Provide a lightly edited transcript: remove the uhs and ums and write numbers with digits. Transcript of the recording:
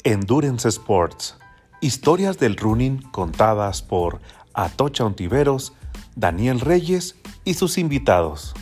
Endurance Sports. Historias del running contadas por Atocha Ontiveros, Daniel Reyes y sus invitados.